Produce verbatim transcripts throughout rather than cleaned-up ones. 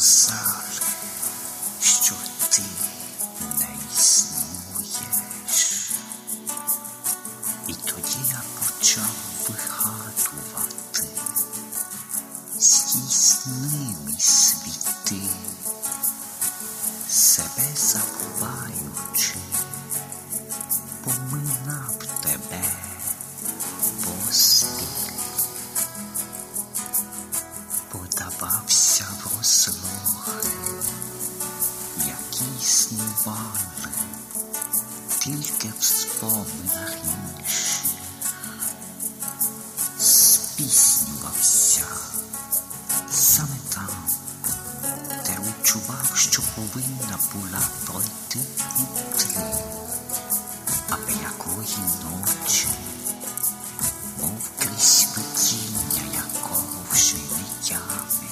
сказали, що ти не існуєш. І тоді я почав вигадувати здійснимі світи, себе забуваючи, поминав тебе поспіль. Подавався в розлоги, які існували тільки в споминах інших. Спіснювався саме там, де відчував, що повинна була пройти внутрі, аби якої ночі, мов крізь видіння якого вже не ями,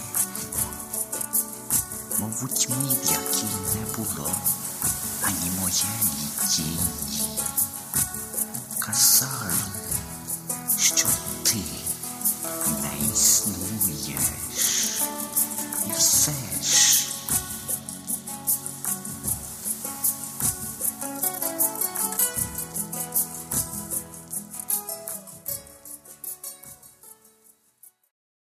мов у тьмі, в якій не було ані моєї тіні. Казали,